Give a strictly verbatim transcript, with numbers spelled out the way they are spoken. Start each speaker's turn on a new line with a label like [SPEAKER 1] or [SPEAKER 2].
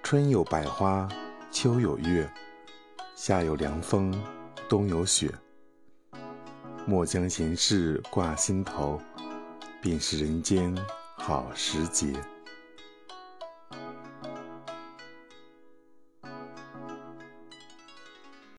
[SPEAKER 1] 春有百花，秋有月，夏有凉风，冬有雪。莫将闲事挂心头，便是人间好时节。